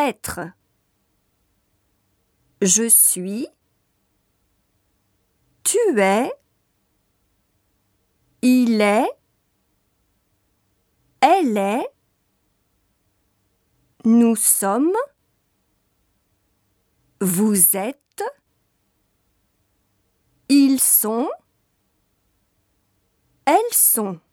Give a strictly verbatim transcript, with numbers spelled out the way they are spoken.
être. Je suis, tu es, il est, elle est, nous sommes, vous êtes, ils sont, elles sont.